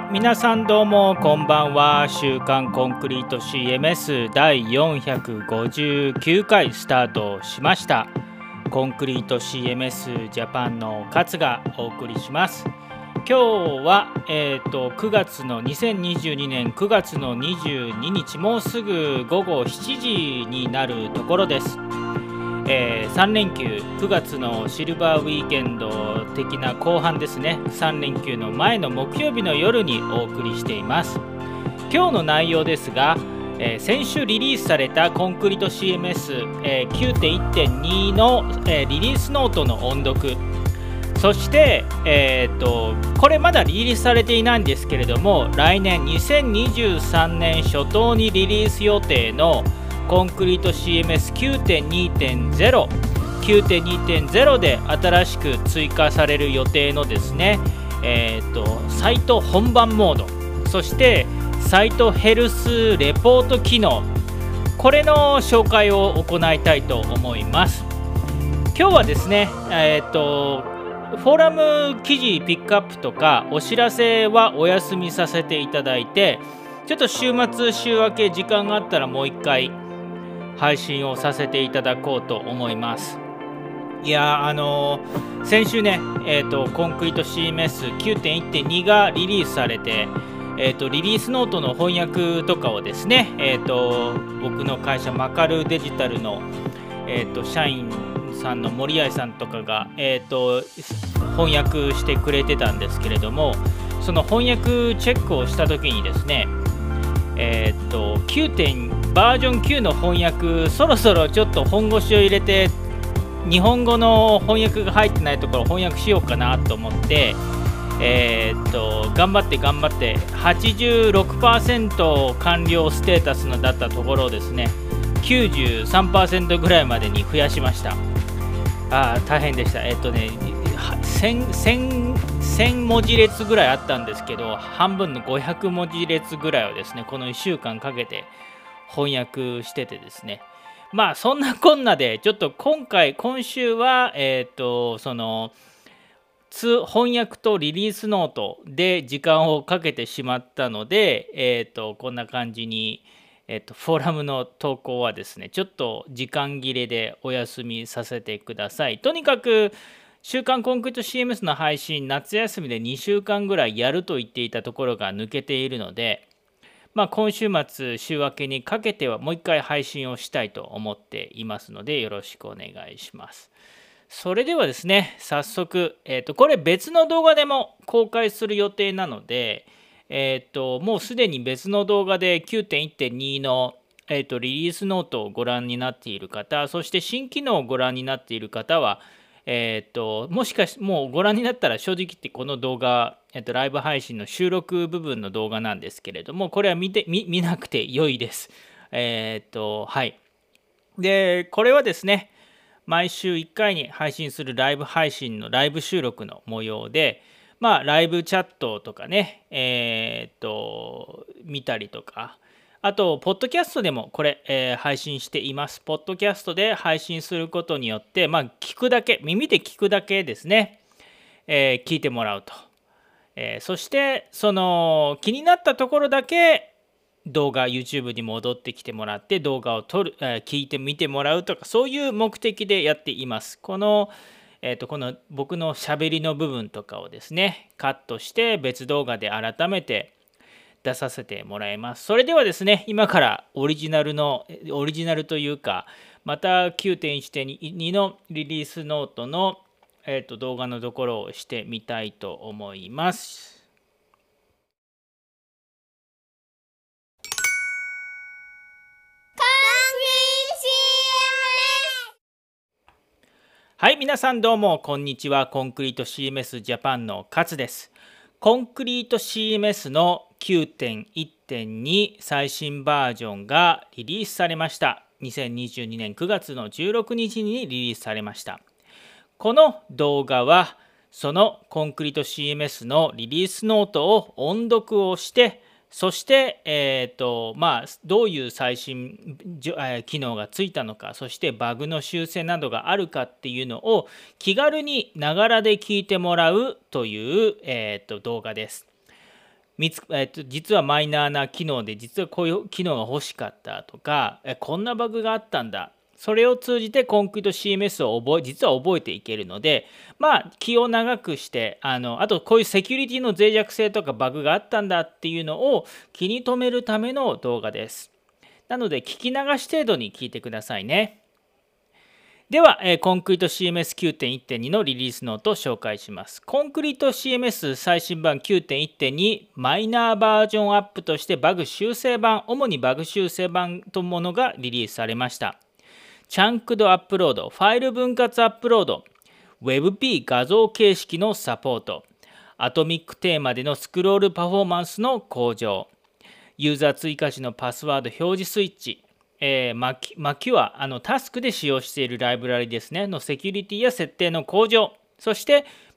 皆さんどうもこんばんは。週刊コンクリート CMS 第459回スタートしました。コンクリート CMS ジャパンの勝がお送りします。今日は、9月の2022年9月の22日、もうすぐ午後7時になるところです。3連休9月のシルバーウィーケンド的な後半ですね。3連休の前の木曜日の夜にお送りしています。今日の内容ですが、先週リリースされたコンクリート CMS、9.1.2 の、リリースノートの音読、そして、これまだリリースされていないんですけれども、来年2023年初頭にリリース予定のコンクリート CMS9.2.0 9.2.0 で新しく追加される予定のですね、サイト本番モード、そしてサイトヘルスレポート機能、これの紹介を行いたいと思います。今日はですね、フォーラム記事ピックアップとかお知らせはお休みさせていただいて、ちょっと週末週明け時間があったらもう一回配信をさせていただこうと思います。いや先週ね、コンクリート CMS9.1.2 がリリースされて、リリースノートの翻訳とかをですね、僕の会社マカルデジタルの、社員さんの森合さんとかが、翻訳してくれてたんですけれども、その翻訳チェックをした時にですね、バージョン9の翻訳、そろそろちょっと本腰を入れて日本語の翻訳が入ってないところを翻訳しようかなと思って、頑張って 86% 完了ステータスのだったところをですね 93% ぐらいまでに増やしました。大変でした。1000文字列ぐらいあったんですけど、半分の500文字列ぐらいをですね、この1週間かけて翻訳しててですね、まあそんなこんなでちょっと今週はその翻訳とリリースノートで時間をかけてしまったので、こんな感じに、フォーラムの投稿はですね、ちょっと時間切れでお休みさせてください。とにかく週刊コンクリート CMS の配信、夏休みで2週間ぐらいやると言っていたところが抜けているので、今週末週明けにかけてはもう一回配信をしたいと思っていますので、よろしくお願いします。それではですね、早速、これ別の動画でも公開する予定なので、もうすでに別の動画で 9.1.2 の、リリースノートをご覧になっている方、そして新機能をご覧になっている方は、もしかしもうご覧になったら、正直言ってこの動画、ライブ配信の収録部分の動画なんですけれども、これは見なくて良いです。はい。で、これはですね、毎週1回に配信するライブ配信のライブ収録の模様で、ライブチャットとかね、見たりとか、あと、ポッドキャストでもこれ、配信しています。ポッドキャストで配信することによって、聞くだけ、耳で聞くだけですね、聞いてもらうと。そして、その気になったところだけ動画、YouTube に戻ってきてもらって、動画を聞いてみてもらうとか、そういう目的でやっています。この僕のしゃべりの部分とかをですね、カットして別動画で改めて出させてもらいます。それではですね、今からオリジナルというか、また 9.1.2 のリリースノートの、動画のところをしてみたいと思います。はい、皆さんどうもこんにちは。コンクリート CMS ジャパンの勝です。コンクリート CMS の 9.1.2 最新バージョンがリリースされました。2022年9月の16日にリリースされました。この動画はそのコンクリート CMS のリリースノートを音読をして、そして、どういう最新機能がついたのか、そしてバグの修正などがあるかっていうのを気軽にながらで聞いてもらうという、動画です。 実はマイナーな機能で実はこういう機能が欲しかったとか、こんなバグがあったんだ、それを通じてコンクリート CMS を実は覚えていけるので、気を長くして、あとこういうセキュリティの脆弱性とかバグがあったんだっていうのを気に留めるための動画です。なので聞き流し程度に聞いてくださいね。では、コンクリート CMS9.1.2 のリリースノートを紹介します。コンクリート CMS 最新版 9.1.2 マイナーバージョンアップとしてバグ修正版、主にバグ修正版というものがリリースされました。チャンクドアップロード、ファイル分割アップロード、WebP 画像形式のサポート、アトミックテーマでのスクロールパフォーマンスの向上、ユーザー追加時のパスワード表示スイッチ、マキュア、タスクで使用しているライブラリですね、のセキュリティや設定の向上、そして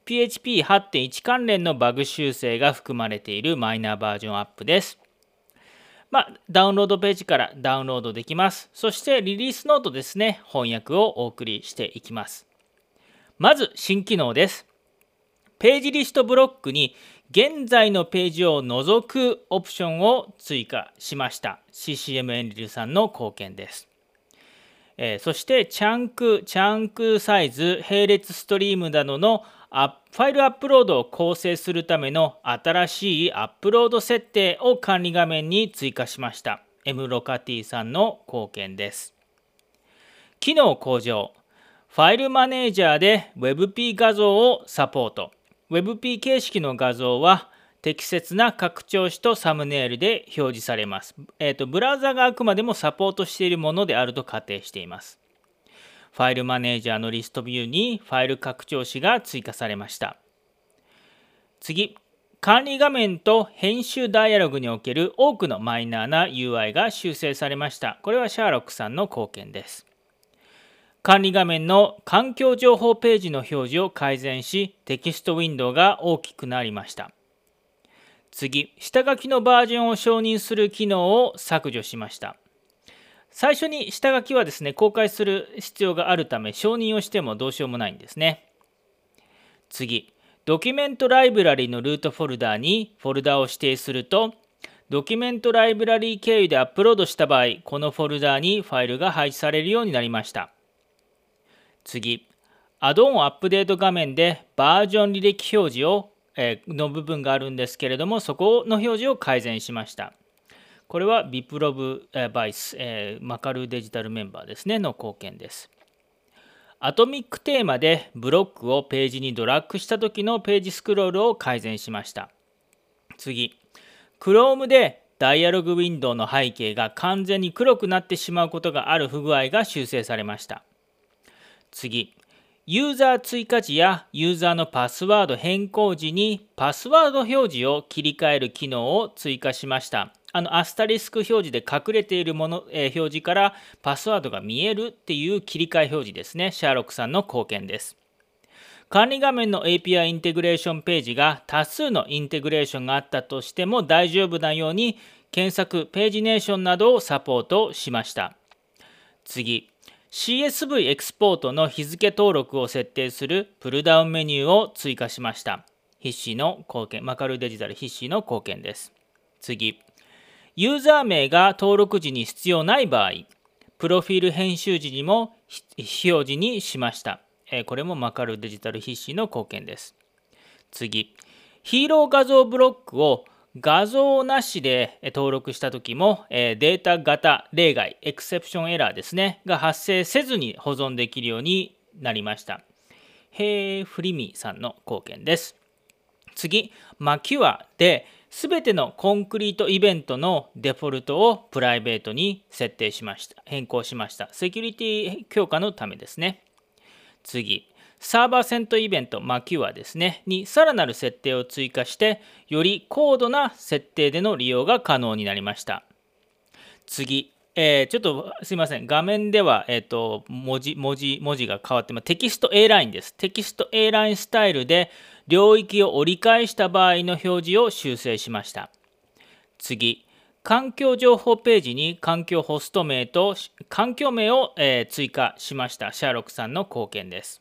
PHP8.1 関連のバグ修正が含まれているマイナーバージョンアップです。ダウンロードページからダウンロードできます。そしてリリースノートですね、翻訳をお送りしていきます。まず新機能です。ページリストブロックに現在のページを除くオプションを追加しました。CCM エンリルさんの貢献です。そしてチャンクサイズ、並列ストリームなどのファイルアップロードを構成するための新しいアップロード設定を管理画面に追加しました。M ロカティさんの貢献です。機能向上。ファイルマネージャーで WebP 画像をサポート。WebP 形式の画像は適切な拡張子とサムネイルで表示されます。ブラウザがあくまでもサポートしているものであると仮定しています。ファイルマネージャーのリストビューにファイル拡張子が追加されました。次、管理画面と編集ダイアログにおける多くのマイナーな UI が修正されました。これはシャーロックさんの貢献です。管理画面の環境情報ページの表示を改善し、テキストウィンドウが大きくなりました。次、下書きのバージョンを承認する機能を削除しました。最初に下書きはですね、公開する必要があるため、承認をしてもどうしようもないんですね。次、ドキュメントライブラリのルートフォルダにフォルダを指定すると、ドキュメントライブラリ経由でアップロードした場合、このフォルダにファイルが配置されるようになりました。次、アドオンアップデート画面でバージョン履歴表示を、の部分があるんですけれども、そこの表示を改善しました。これはビプロブバイス、マカルデジタルメンバーですねの貢献です。アトミックテーマでブロックをページにドラッグした時のページスクロールを改善しました。次、Chrome でダイアログウィンドウの背景が完全に黒くなってしまうことがある不具合が修正されました。次、ユーザー追加時やユーザーのパスワード変更時にパスワード表示を切り替える機能を追加しました。アスタリスク表示で隠れているもの、表示からパスワードが見えるっていう切り替え表示ですね。シャーロックさんの貢献です。管理画面の API インテグレーションページが多数のインテグレーションがあったとしても大丈夫なように検索、ページネーションなどをサポートしました。次、CSV エクスポートの日付登録を設定するプルダウンメニューを追加しました。ヒッシーの貢献、マカルデジタルヒッシーの貢献です。次、ユーザー名が登録時に必要ない場合、プロフィール編集時にも表示にしました。これもマカルデジタルヒッシーの貢献です。次、ヒーロー画像ブロックを画像なしで登録したときもデータ型例外、エクセプションエラーですね、が発生せずに保存できるようになりました。ヘイフリミさんの貢献です。次、マキュアで全てのコンクリートイベントのデフォルトをプライベートに設定しました。変更しました。セキュリティ強化のためですね。次、サーバーセントイベントマキュアですねにさらなる設定を追加してより高度な設定での利用が可能になりました。次、ちょっとすいません、画面では、文字が変わってます。テキスト A ラインです。テキスト A ラインスタイルで領域を折り返した場合の表示を修正しました。次、環境情報ページに環境ホスト名と環境名を、追加しました。シャーロックさんの貢献です。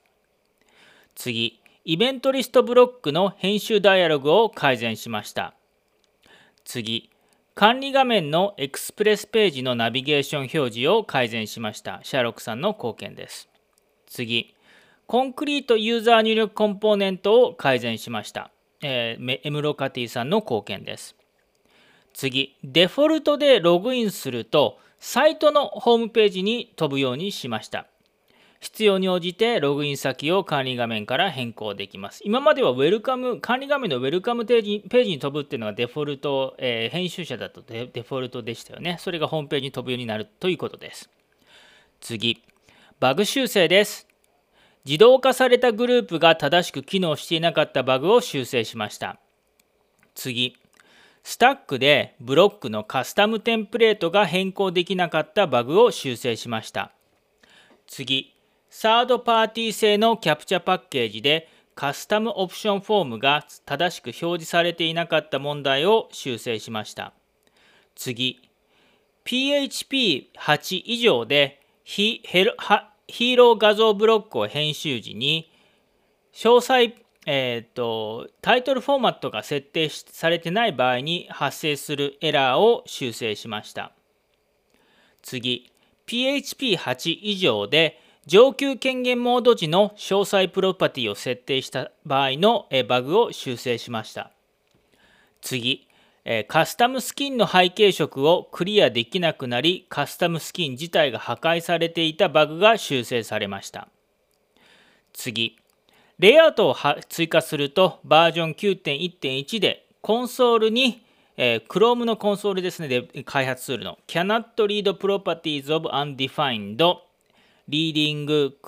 次、イベントリストブロックの編集ダイアログを改善しました。 次、管理画面のエクスプレスページのナビゲーション表示を改善しました。シャーロックさんの貢献です。次、コンクリートユーザー入力コンポーネントを改善しました。エムロカティさんの貢献です。次、デフォルトでログインすると、サイトのホームページに飛ぶようにしました。必要に応じてログイン先を管理画面から変更できます。今までは管理画面のウェルカムページに飛ぶっていうのがデフォルト、編集者だとデフォルトでしたよね。それがホームページに飛ぶようになるということです。次、バグ修正です。自動化されたグループが正しく機能していなかったバグを修正しました。次、スタックでブロックのカスタムテンプレートが変更できなかったバグを修正しました。次、サードパーティー製のキャプチャパッケージでカスタムオプションフォームが正しく表示されていなかった問題を修正しました。次、PHP8 以上でヒーロー画像ブロックを編集時に詳細タイトルフォーマットが設定されてない場合に発生するエラーを修正しました。次、PHP8 以上で上級権限モード時の詳細プロパティを設定した場合のバグを修正しました。次、カスタムスキンの背景色をクリアできなくなり、カスタムスキン自体が破壊されていたバグが修正されました。次、レイアウトを追加するとバージョン 9.1.1 でコンソールに、Chrome のコンソールですね、で開発ツールの Cannot read properties of undefined Reading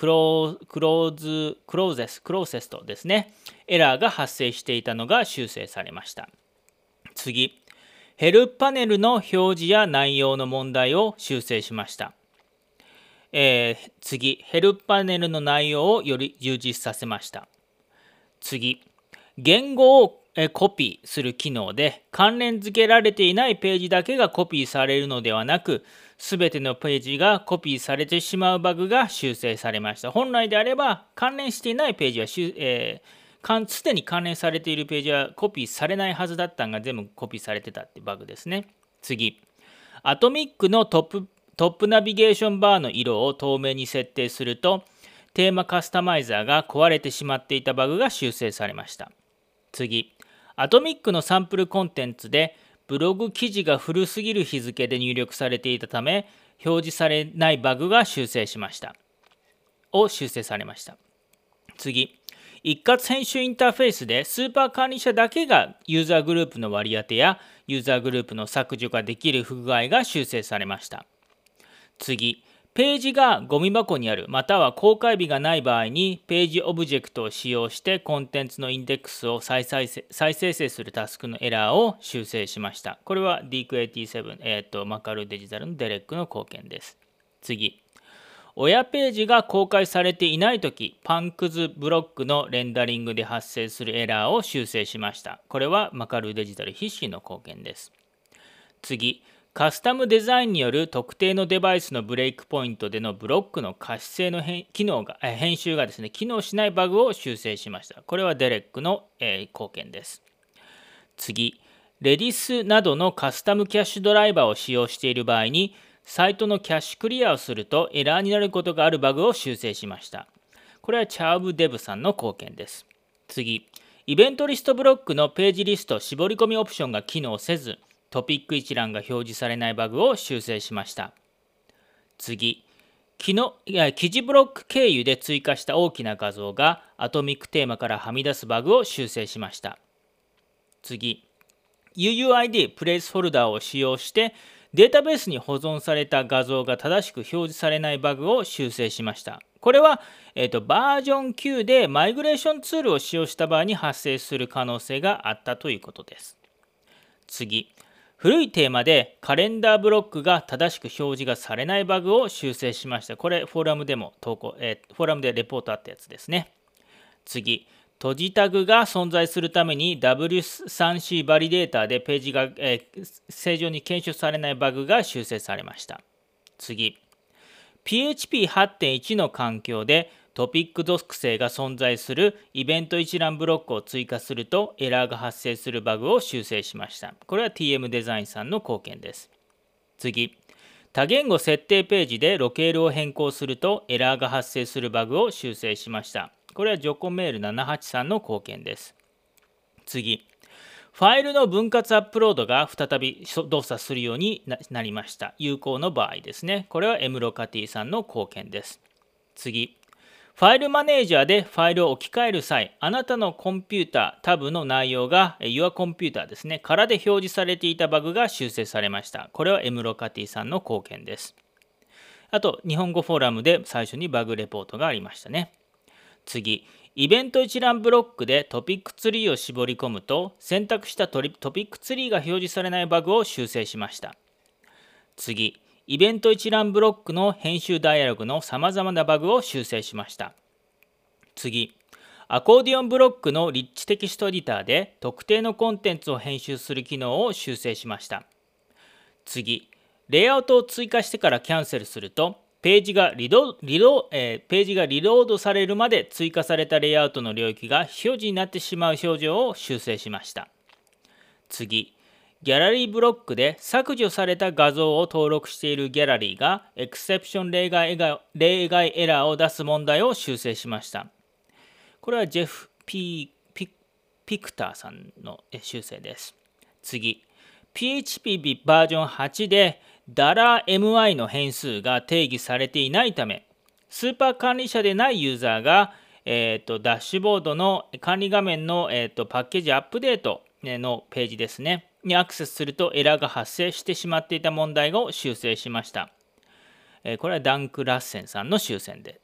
Closest ですね。エラーが発生していたのが修正されました。次、ヘルプパネルの表示や内容の問題を修正しました。次、ヘルプパネルの内容をより充実させました。次、言語をコピーする機能で関連付けられていないページだけがコピーされるのではなく、すべてのページがコピーされてしまうバグが修正されました。本来であれば関連していないページはすでに関連されているページはコピーされないはずだったのが全部コピーされてたってバグですね。次、アトミックのトップナビゲーションバーの色を透明に設定するとテーマカスタマイザーが壊れてしまっていたバグが修正されました。次、アトミックのサンプルコンテンツでブログ記事が古すぎる日付で入力されていたため表示されないバグが修正されました。次、一括編集インターフェースでスーパー管理者だけがユーザーグループの割り当てやユーザーグループの削除ができる不具合が修正されました。次、ページがゴミ箱にあるまたは公開日がない場合にページオブジェクトを使用してコンテンツのインデックスを再生成するタスクのエラーを修正しました。これは DQ87、マカルデジタルのデレックの貢献です。次、親ページが公開されていないとき、パンクズブロックのレンダリングで発生するエラーを修正しました。これはマカルデジタル必至の貢献です。次、カスタムデザインによる特定のデバイスのブレイクポイントでのブロックの可視性の編集がですね、機能しないバグを修正しました。これはデレックの、貢献です。次、レディスなどのカスタムキャッシュドライバーを使用している場合に、サイトのキャッシュクリアをするとエラーになることがあるバグを修正しました。これはチャーブデブさんの貢献です。次、イベントリストブロックのページリスト絞り込みオプションが機能せず、トピック一覧が表示されないバグを修正しました。次、記事ブロック経由で追加した大きな画像がアトミックテーマからはみ出すバグを修正しました。次、UUID プレイスフォルダーを使用してデータベースに保存された画像が正しく表示されないバグを修正しました。これは、バージョン9でマイグレーションツールを使用した場合に発生する可能性があったということです。次、古いテーマでカレンダーブロックが正しく表示がされないバグを修正しました。これフォーラムでもフォーラムでレポートあったやつですね。次、閉じタグが存在するために W3C バリデータでページが、正常に検出されないバグが修正されました。次、PHP8.1 の環境でトピック属性が存在するイベント一覧ブロックを追加するとエラーが発生するバグを修正しました。これは TM デザインさんの貢献です。次、多言語設定ページでロケールを変更するとエラーが発生するバグを修正しました。これはジョコメール783の貢献です。次、ファイルの分割アップロードが再び動作するようになりました。有効の場合ですね。これはエムロカティさんの貢献です。次、ファイルマネージャーでファイルを置き換える際、あなたのコンピュータタブの内容が Your Computer ですね、からで表示されていたバグが修正されました。これはエムロカティさんの貢献です。あと、日本語フォーラムで最初にバグレポートがありましたね。次、イベント一覧ブロックでトピックツリーを絞り込むと、選択したトピックツリーが表示されないバグを修正しました。次、イベント一覧ブロックの編集ダイアログのさまざまなバグを修正しました。次、アコーディオンブロックのリッチテキストエディターで特定のコンテンツを編集する機能を修正しました。次、レイアウトを追加してからキャンセルすると、ページがリロードされるまで追加されたレイアウトの領域が非表示になってしまう表示を修正しました。次、ギャラリーブロックで削除された画像を登録しているギャラリーがエクセプション例外エラーを出す問題を修正しました。これはジェフ・ピクターさんの修正です。次、PHP バージョン8で$MI の変数が定義されていないため、スーパー管理者でないユーザーが、ダッシュボードの管理画面の、パッケージアップデートのページですね、にアクセスするとエラーが発生してしまっていた問題を修正しました。これはダンク・ラッセンさんの修正です。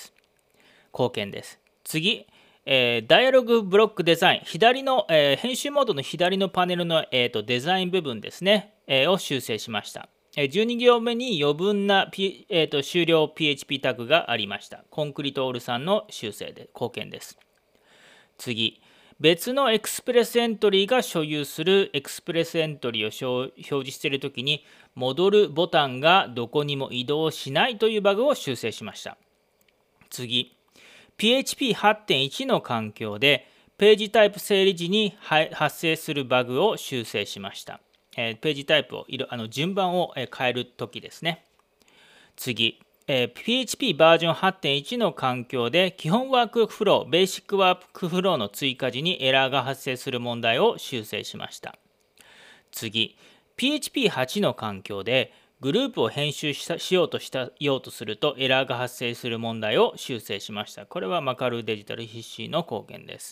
貢献です。次、ダイアログブロックデザイン、左の、編集モードの左のパネルの、デザイン部分ですね、を修正しました。12行目に余分な、終了 PHP タグがありました。コンクリートオールさんの修正で貢献です。次、別のエクスプレスエントリーが所有するエクスプレスエントリーを表示しているときに、戻るボタンがどこにも移動しないというバグを修正しました。次、PHP 8.1 の環境でページタイプ整理時に発生するバグを修正しました。ページタイプを順番を変えるときですね。次、PHP バージョン 8.1 の環境で基本ワークフロー、ベーシックワークフローの追加時にエラーが発生する問題を修正しました。次、PHP 8 の環境でグループを編集しようとするとエラーが発生する問題を修正しました。これはマカルデジタル必死の貢献です。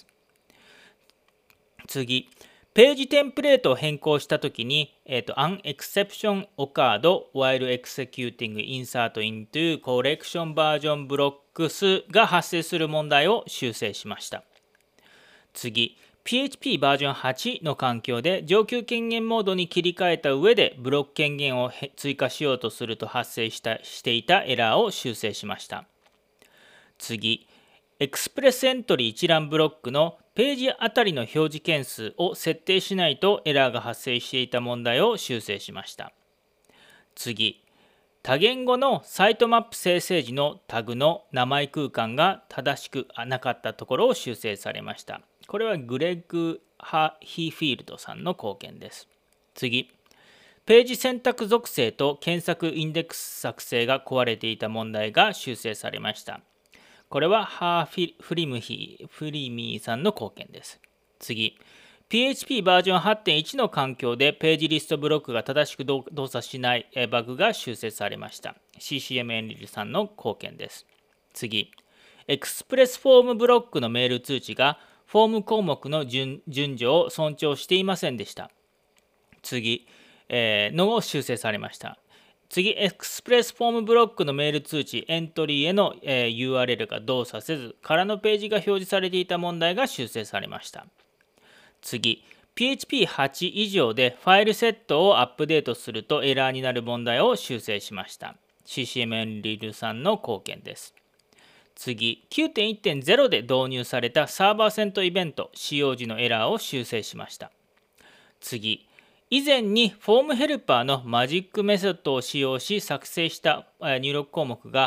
次、ページテンプレートを変更したときに、An exception occurred while executing insert into collection version blocks が発生する問題を修正しました。次、PHP バージョン8の環境で上級権限モードに切り替えた上でブロック権限を追加しようとすると発生していたエラーを修正しました。次、エクスプレスエントリー一覧ブロックのページあたりの表示件数を設定しないとエラーが発生していた問題を修正しました。次、多言語のサイトマップ生成時のタグの名前空間が正しくなかったところを修正されました。これはグレッグ・ヒーフィールドさんの貢献です。次、ページ選択属性と検索インデックス作成が壊れていた問題が修正されました。これはフリミーさんの貢献です。次、PHP バージョン 8.1 の環境でページリストブロックが正しく動作しないバグが修正されました。CCM エンリルさんの貢献です。次、エクスプレスフォームブロックのメール通知がフォーム項目の順序を尊重していませんでした。次、のを修正されました。次、エクスプレスフォームブロックのメール通知、エントリーへの、URL が動作せず、空のページが表示されていた問題が修正されました。次、PHP 8 以上でファイルセットをアップデートするとエラーになる問題を修正しました。CCM エンリルさんの貢献です。次、9.1.0 で導入されたサーバーセントイベント使用時のエラーを修正しました。次、以前にフォームヘルパーのマジックメソッドを使用し作成した入力項目が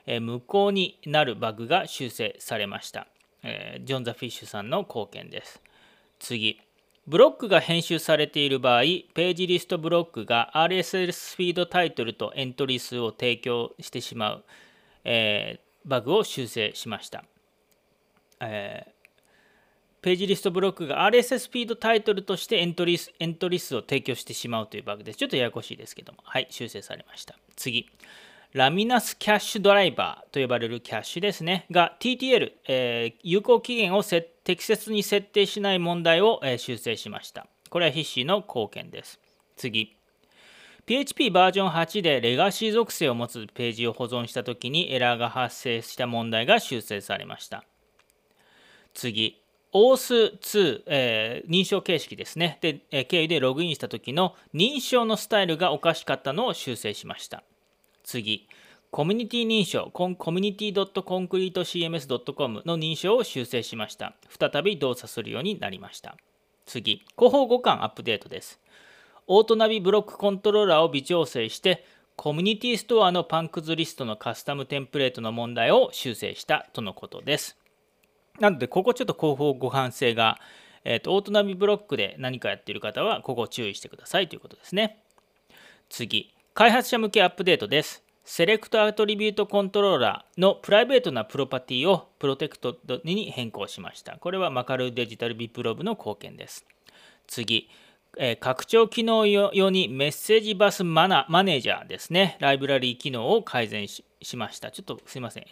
無効になるバグが修正されました。ジョン・ザ・フィッシュさんの貢献です。次。ブロックが編集されている場合、ページリストブロックが RSS フィードタイトルとエントリー数を提供してしまう、バグを修正しました。ページリストブロックが RSS フィードタイトルとしてエントリー数を提供してしまうというバグです。ちょっとややこしいですけども、はい、修正されました。次。ラミナスキャッシュドライバーと呼ばれるキャッシュですねが TTL、有効期限を適切に設定しない問題を、修正しました。これは筆詞の貢献です。次。PHP バージョン8でレガシー属性を持つページを保存したときにエラーが発生した問題が修正されました。次。OAuth2、認証形式ですね。で、経由でログインしたときの認証のスタイルがおかしかったのを修正しました。次、コミュニティ認証、community.concretecms.com の認証を修正しました。再び動作するようになりました。次、広報互換アップデートです。オートナビブロックコントローラーを微調整して、コミュニティストアのパンクズリストのカスタムテンプレートの問題を修正したとのことです。なので、ここちょっと広報互換性が、オートナビブロックで何かやっている方は、ここを注意してくださいということですね。次。開発者向けアップデートです。セレクトアトリビュートコントローラーのプライベートなプロパティをプロテクトに変更しました。これはマカルデジタルビプロブの貢献です。次、拡張機能用にメッセージバスマネージャーですね。ライブラリー機能を改善 しました。ちょっとすいません。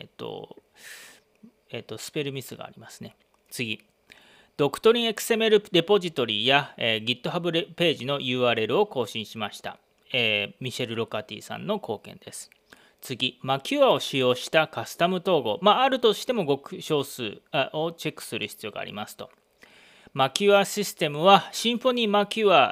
スペルミスがありますね。次。ドクトリン XML レポジトリや、GitHub ページの URL を更新しました。ミシェル・ロカティさんの貢献です。次、マキュアを使用したカスタム統合。あるとしても極少数をチェックする必要がありますと。マキュアシステムはシンフォニーマキュア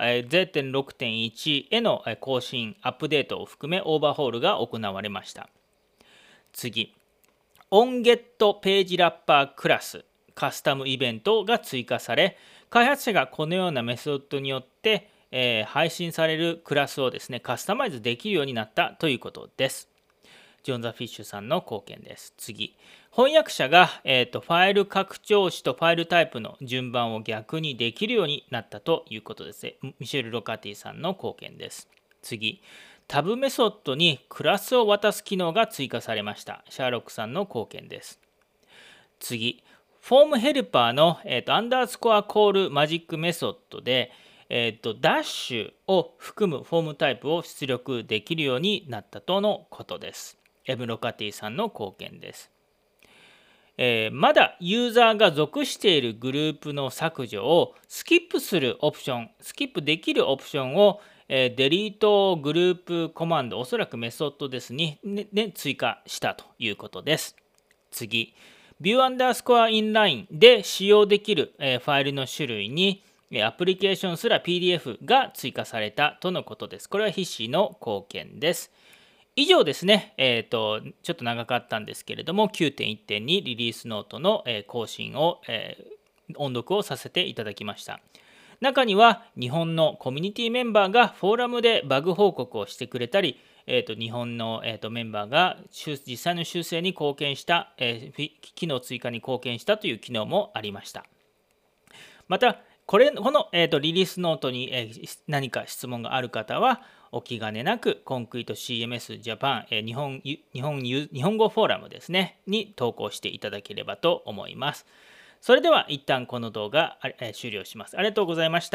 0.6.1 への更新、アップデートを含めオーバーホールが行われました。次、OnGet ページラッパークラスカスタムイベントが追加され、開発者がこのようなメソッドによって配信されるクラスをですね、カスタマイズできるようになったということです。ジョン・ザ・フィッシュさんの貢献です。次。翻訳者が、ファイル拡張子とファイルタイプの順番を逆にできるようになったということです。ミシェル・ロカティさんの貢献です。次。タブメソッドにクラスを渡す機能が追加されました。シャーロックさんの貢献です。次。フォームヘルパーの、アンダースコアコールマジックメソッドで、ダッシュを含むフォームタイプを出力できるようになったとのことです。エム・ロカティさんの貢献です。まだユーザーが属しているグループの削除をスキップするオプション、スキップできるオプションを、デリートグループコマンド、おそらくメソッドですね、追加したということです。次、View underscore inline で使用できる、ファイルの種類にアプリケーションすら PDF が追加されたとのことです。これは筆詞の貢献です。以上ですね、ちょっと長かったんですけれども、9.1.2 リリースノートの更新を、音読をさせていただきました。中には日本のコミュニティメンバーがフォーラムでバグ報告をしてくれたり、日本の、メンバーが実際の修正に貢献した、機能追加に貢献したという機能もありました。また、この、リリースノートに、何か質問がある方は、お気兼ねなく、コンクリート CMS Japan、日本語フォーラムですね、に投稿していただければと思います。それでは、一旦この動画、終了します。ありがとうございました。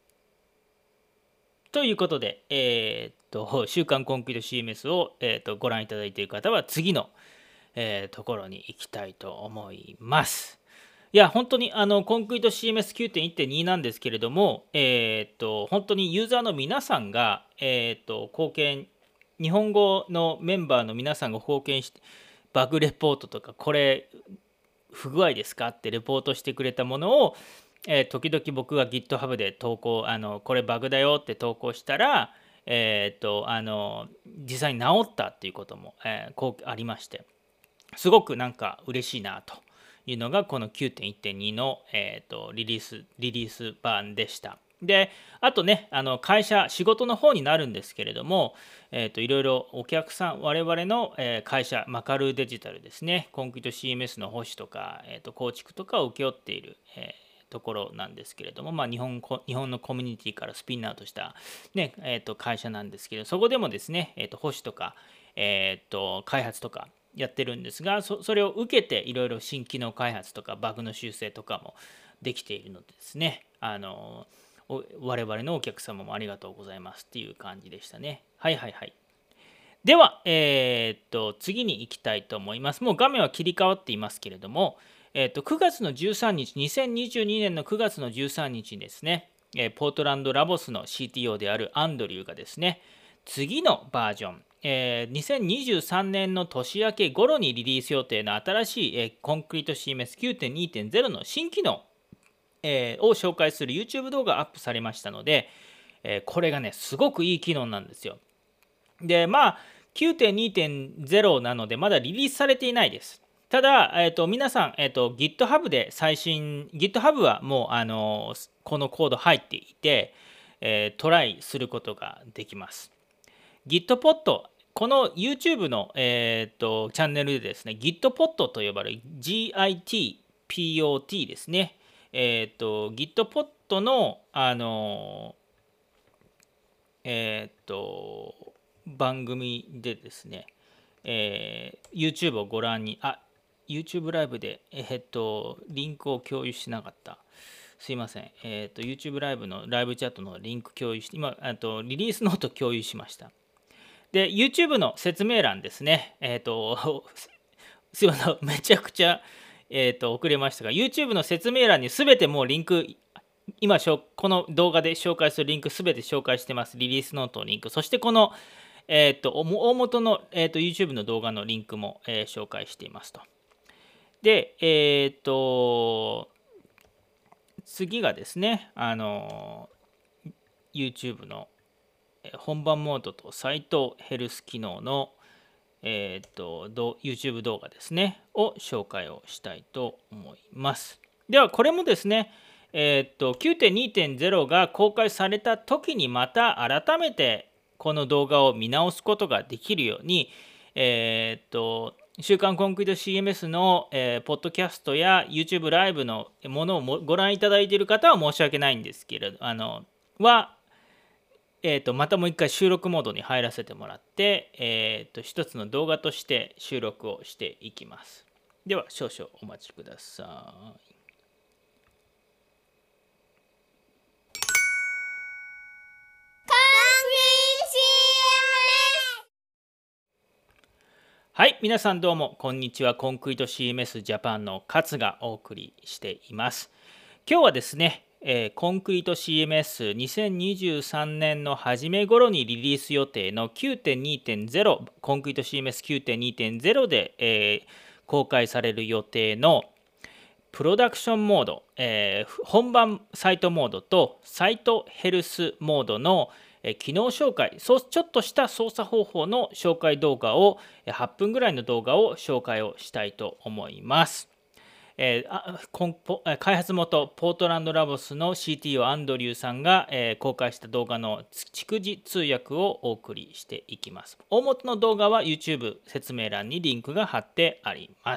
ということで、週刊コンクリート CMS を、ご覧いただいている方は、次の、ところに行きたいと思います。いや、本当にコンクリート CMS9.1.2 なんですけれども、本当にユーザーの皆さんが、貢献、日本語のメンバーの皆さんが貢献して、バグレポートとか、これ、不具合ですかってレポートしてくれたものを、時々僕が GitHub で投稿、これバグだよって投稿したら、実際に治ったっていうことも、こうありまして、すごくなんか嬉しいなというのがこの 9.1.2 の、リリース版でした。 で、あとね、会社、仕事の方になるんですけれども、いろいろお客さん、我々の会社、マカルーデジタルですね、コンクリート CMS の保守とか、構築とかを請け負っている、ところなんですけれども、日本のコミュニティからスピンアウトした、ね会社なんですけど、そこでもですね、保守とか、開発とかやってるんですが、それを受けていろいろ新機能開発とかバグの修正とかもできているのでですね、我々のお客様もありがとうございますっていう感じでしたね。はいはいはい。では、次に行きたいと思います。もう画面は切り替わっていますけれども、9月の13日、2022年の9月の13日にですね、ポートランドラボスの CTO であるアンドリューがですね、次のバージョン、2023年の年明け頃にリリース予定の新しい、コンクリート CMS9.2.0 の新機能、を紹介する YouTube 動画がアップされましたので、これがね、すごくいい機能なんですよ。で、9.2.0 なので、まだリリースされていないです。ただ、皆さん、GitHub でGitHub はもう、このコード入っていて、トライすることができます。Gitpod、この YouTube の、チャンネルでですね、Gitpod と呼ばれる GITPOT ですね。Gitpod の、番組でですね、YouTube をご覧に、YouTube ライブで、リンクを共有しなかった。すいません。YouTube ライブのライブチャットのリンク共有して、今、リリースノート共有しました。で、YouTube の説明欄ですね。すいません。めちゃくちゃ、遅れましたが、YouTube の説明欄にすべてもうリンク、今、この動画で紹介するリンクすべて紹介してます。リリースノートのリンク。そしてこの、大元の、YouTube の動画のリンクも、紹介していますと。で、次がですね、YouTube の本番モードとサイトヘルス機能の、YouTube 動画ですね、を紹介をしたいと思います。では、これもですね、9.2.0 が公開された時にまた改めてこの動画を見直すことができるように、週刊コンクリート CMS の、ポッドキャストや YouTube ライブのものをご覧いただいている方は申し訳ないんですけれど、またもう一回収録モードに入らせてもらって、一つの動画として収録をしていきます。では少々お待ちください。はい、皆さんどうもこんにちは。コンクリート CMS ジャパンの勝がお送りしています。今日はですね、コンクリート CMS2023 年の初め頃にリリース予定の 9.2.0 コンクリート CMS9.2.0 で、公開される予定のプロダクションモード、本番サイトモードとサイトヘルスモードの機能紹介、ちょっとした操作方法の紹介動画を8分ぐらいの動画を紹介をしたいと思います。開発元ポートランドラボスの CTO アンドリューさんが、公開した動画の逐次通訳をお送りしていきます。大元の動画は YouTube 説明欄にリンクが貼ってあります。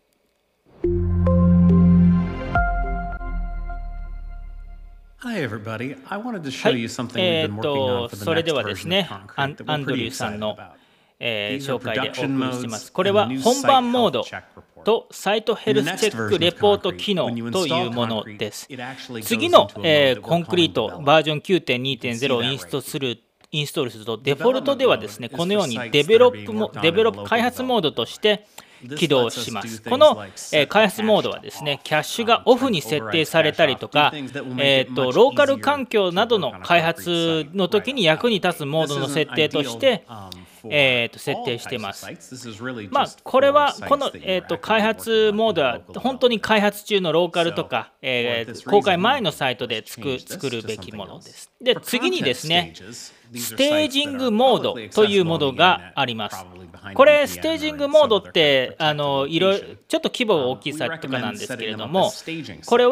Hi everybody. I wanted to show you something we've been working on for the next version of Concrete that we we're pretty excited about. 紹介でお送りしています。これは本番モードとサイトヘルスチェックレポート機能というものです。次の、コンクリートバージョン 9.2.0 をインストールすると、デフォルトではですね、このようにデベロップ開発モードとして起動します。この、開発モードはですね、キャッシュがオフに設定されたりとか、ローカル環境などの開発の時に役に立つモードの設定として設定しています。これはこの、開発モードは本当に開発中のローカルとか、公開前のサイトで作るべきものです。で、次にですね、ステージングモードというものがあります。これステージングモードっていろいろちょっと規模が大きいサイトとかなんですけれども、これは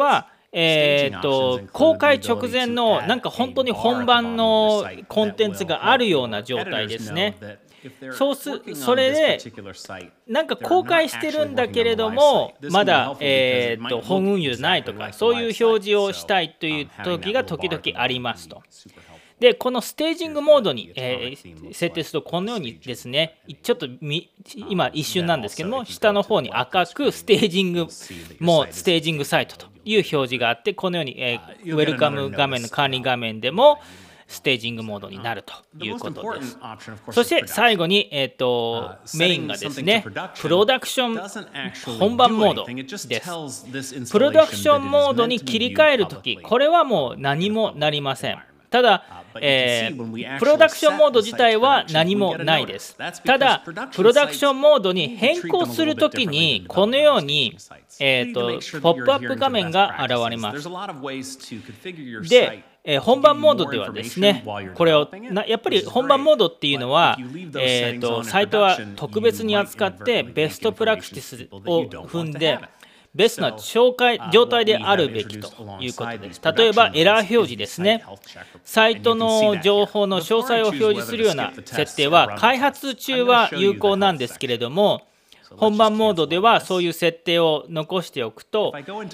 公開直前のなんか本当に本番のコンテンツがあるような状態ですね。それでなんか公開してるんだけれどもまだ、本運用ないとかそういう表示をしたいという時が時々ありますと。でこのステージングモードに、設定するとこのようにですねちょっと今一瞬なんですけども下の方に赤くステージングサイトという表示があってこのように、ウェルカム画面の管理画面でもステージングモードになるということです。そして最後に、メインがですねプロダクション本番モードです。プロダクションモードに切り替えるときこれはもう何もなりません。ただ、プロダクションモード自体は何もないです。ただ、プロダクションモードに変更するときに、このように、ポップアップ画面が現れます。で、本番モードではですね、これをやっぱり本番モードっていうのは、サイトは特別に扱ってベストプラクティスを踏んで、ベストな状態であるべきということです。例えばエラー表示ですね。サイトの情報の詳細を表示するような設定は開発中は有効なんですけれども、本番モードではそういう設定を残しておくと、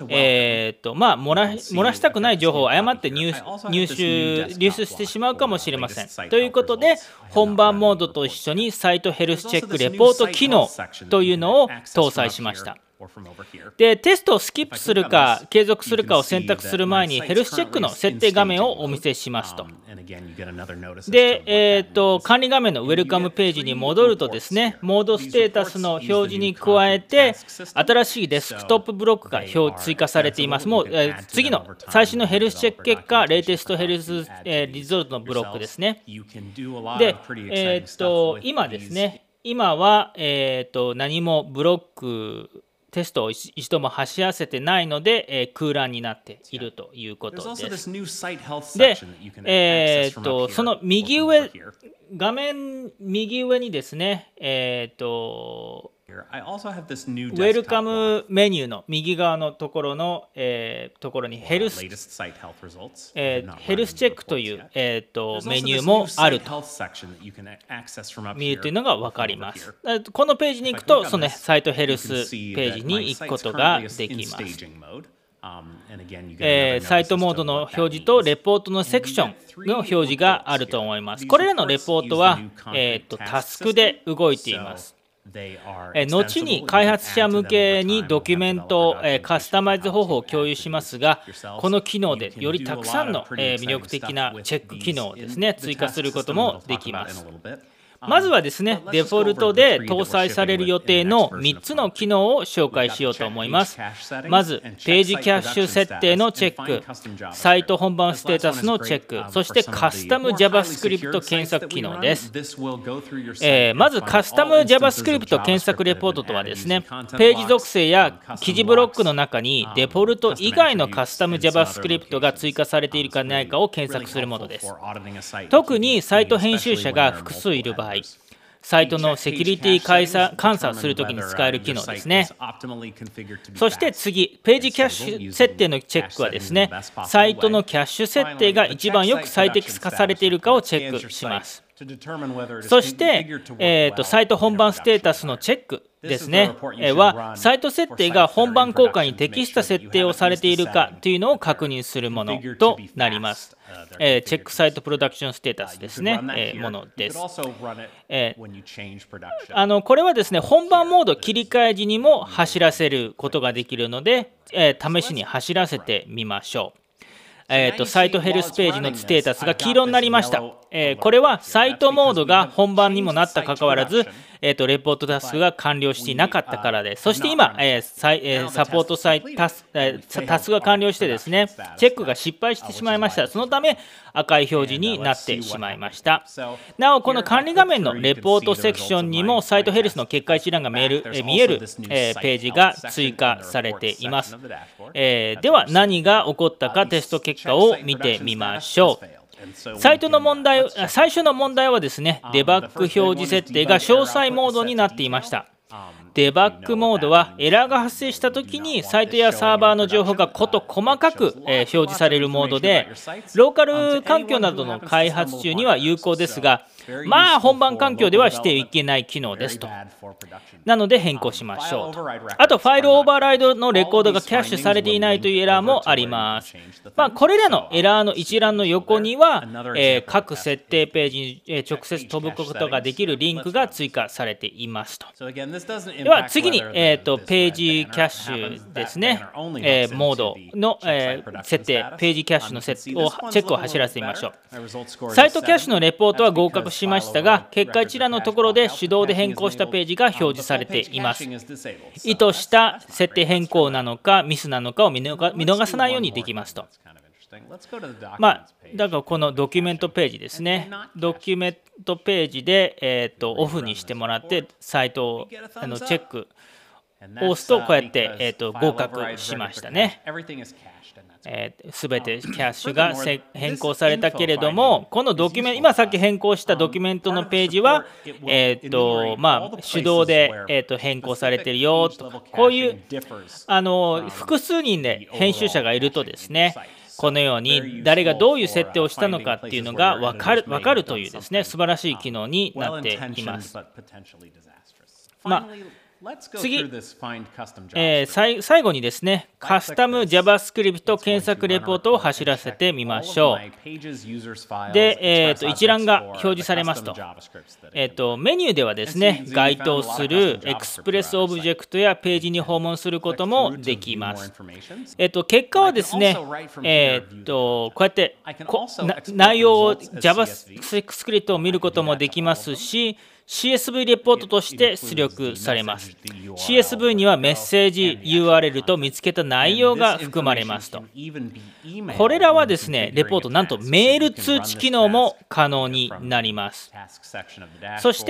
漏らしたくない情報を誤って流出してしまうかもしれません。ということで、本番モードと一緒にサイトヘルスチェックレポート機能というのを搭載しました。で、テストをスキップするか継続するかを選択する前にヘルスチェックの設定画面をお見せしますと。で、管理画面のウェルカムページに戻るとですね、モードステータスの表示に加えて新しいデスクトップブロックが追加されています。もう、次の最新のヘルスチェック結果、レイテストヘルス、リゾルトのブロックですね。で、今ですね、今は、何もブロックテストを一度も走らせてないので、空欄になっているということです。で、その画面右上にですね、ウェルカムメニューの右側のところにヘルスチェックという、メニューもあると見るというのが分かります。このページに行くとそのサイトヘルスページに行くことができます。サイトモードの表示とレポートのセクションの表示があると思います。これらのレポートは、タスクで動いています。後に開発者向けにドキュメント、カスタマイズ方法を共有しますが、この機能でよりたくさんの、魅力的なチェック機能をですね、追加することもできます。まずはですね、デフォルトで搭載される予定の3つの機能を紹介しようと思います。まず、ページキャッシュ設定のチェック、サイト本番ステータスのチェック、そしてカスタム JavaScript 検索機能です。まず、カスタム JavaScript 検索レポートとはですね、ページ属性や記事ブロックの中にデフォルト以外のカスタム JavaScript が追加されているかないかを検索するものです。特にサイト編集者が複数いる場合、サイトのセキュリティ監査をするときに使える機能ですね。そして次、ページキャッシュ設定のチェックはですね、サイトのキャッシュ設定が一番よく最適化されているかをチェックします。そして、サイト本番ステータスのチェックですね、はサイト設定が本番公開に適した設定をされているかというのを確認するものとなります。チェックサイトプロダクションステータスですね、ものです。これはですね、本番モード切り替え時にも走らせることができるので、試しに走らせてみましょう。サイトヘルスページのステータスが黄色になりました。これはサイトモードが本番にもなったかかわらず、レポートタスクが完了していなかったからです。そして今、サポートタスクが完了してですね、チェックが失敗してしまいました。そのため赤い表示になってしまいました。なお、この管理画面のレポートセクションにもサイトヘルスの結果一覧が見える、ページが追加されています。では何が起こったかテスト結果を見てみましょう。最初の問題はですね、デバッグ表示設定が詳細モードになっていました。 デバッグモードはエラーが発生したときにサイトやサーバーの情報が事細かく表示されるモードで、ローカル環境などの開発中には有効ですが、まあ本番環境ではしてはいけない機能ですと。なので変更しましょうと。あとファイルオーバーライドのレコードがキャッシュされていないというエラーもあります。これらのエラーの一覧の横には、各設定ページに直接飛ぶことができるリンクが追加されていますと。では次に、ページキャッシュですね、モードの、設定、ページキャッシュのチェックを走らせてみましょう。サイトキャッシュのレポートは合格しましたが、結果一覧のところで手動で変更したページが表示されています。意図した設定変更なのかミスなのかを見逃さないようにできますと。だからこのドキュメントページですね。ドキュメントページで、オフにしてもらってサイトをチェックを押すとこうやって、合格しましたね。すべてキャッシュが変更されたけれども、このドキュメント、今さっき変更したドキュメントのページは、手動で、変更されてるよとか、こういう複数人で編集者がいるとですね、このように誰がどういう設定をしたのかっていうのが分かるというですね、素晴らしい機能になっています。次、最後にですね、カスタム JavaScript 検索レポートを走らせてみましょう。で、一覧が表示されますと。メニューではですね、該当するエクスプレスオブジェクトやページに訪問することもできます。結果はですね、こうやって内容を JavaScript を見ることもできますし、CSV レポートとして出力されます。CSV にはメッセージ URL と見つけた内容が含まれますと。これらはですね、レポート、なんとメール通知機能も可能になります。そして、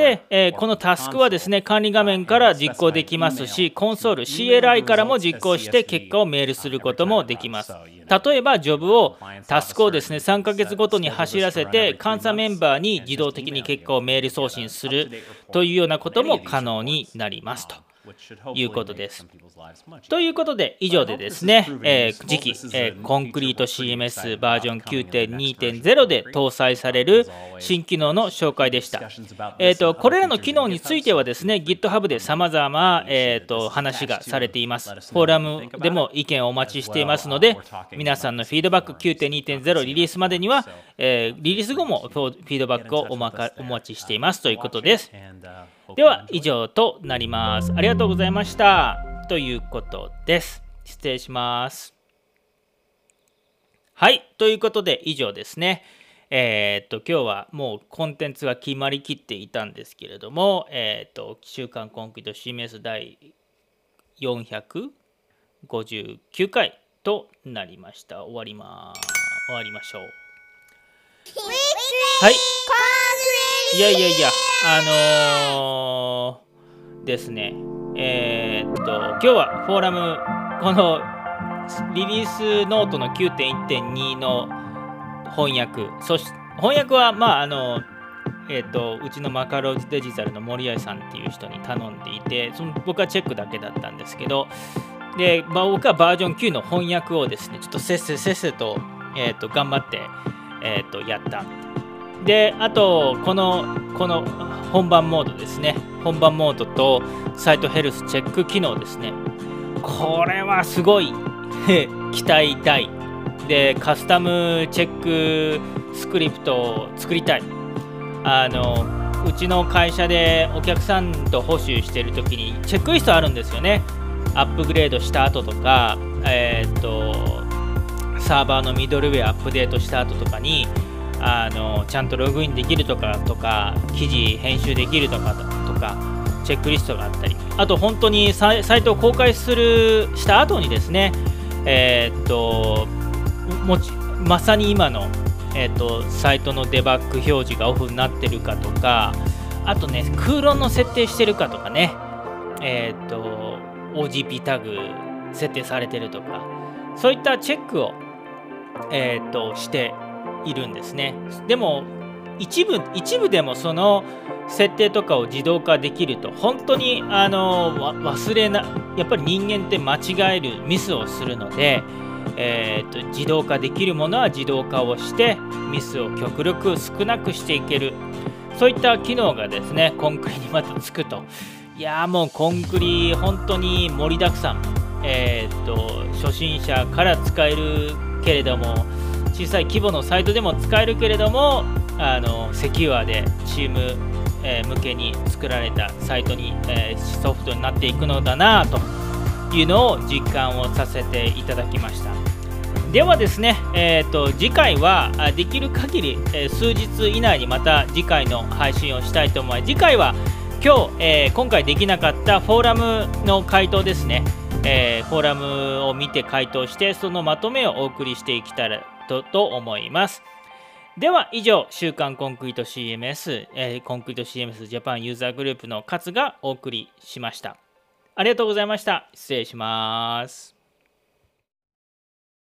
このタスクはですね、管理画面から実行できますし、コンソール CLI からも実行して結果をメールすることもできます。例えば、ジョブを、タスクをですね、3ヶ月ごとに走らせて、監査メンバーに自動的に結果をメール送信するというようなことも可能になりますということです。ということで、以上でですね、次期、コンクリート CMS バージョン 9.2.0 で搭載される新機能の紹介でした。これらの機能についてはですね、GitHub で様々、話がされています。フォーラムでも意見をお待ちしていますので、皆さんのフィードバック 9.2.0 リリースまでには、リリース後もフィードバックをお待ちしていますということです。では以上となります。ありがとうございましたということです。失礼します。はい、ということで以上ですね。今日はもうコンテンツが決まりきっていたんですけれども、週刊コンクリート CMS 第459回となりました。終わりましょう。はい。いやですね、今日はフォーラム、このリリースノートの 9.1.2 の翻訳、翻訳はうちのマカローズデジタルの森合さんっていう人に頼んでいて、僕はチェックだけだったんですけど、で、僕はバージョン9の翻訳をですね、ちょっとせっせと、頑張って、やった。で、あとこの本番モードですね。本番モードとサイトヘルスチェック機能ですね。これはすごい期待大で、カスタムチェックスクリプトを作りたい。うちの会社でお客さんと補修しているときにチェックリストあるんですよね。アップグレードした後とか、サーバーのミドルウェアアップデートした後とかにちゃんとログインできるとか記事編集できるとかチェックリストがあったり、あと本当にサイトを公開した後にですね、まさに今の、サイトのデバッグ表示がオフになってるかとか、あとね、空論の設定してるかとかね、OGP タグ設定されてるとか、そういったチェックを、しているんですね。でも一部でもその設定とかを自動化できると本当にやっぱり人間って間違えるミスをするので、自動化できるものは自動化をしてミスを極力少なくしていける、そういった機能がですねコンクリにまたつくと。いやーもうコンクリ本当に盛りだくさん、初心者から使えるけれども小さい規模のサイトでも使えるけれどもセキュアでチーム、向けに作られたサイトに、ソフトになっていくのだなというのを実感をさせていただきました。ではですね、次回はできる限り、数日以内にまた次回の配信をしたいと思います。次回は今回できなかったフォーラムの回答ですね、フォーラムを見て回答してそのまとめをお送りしていきたいと思います。では以上、週刊コンクリート CMS、コンクリート CMS ジャパンユーザーグループの勝がお送りしました。ありがとうございました。失礼します。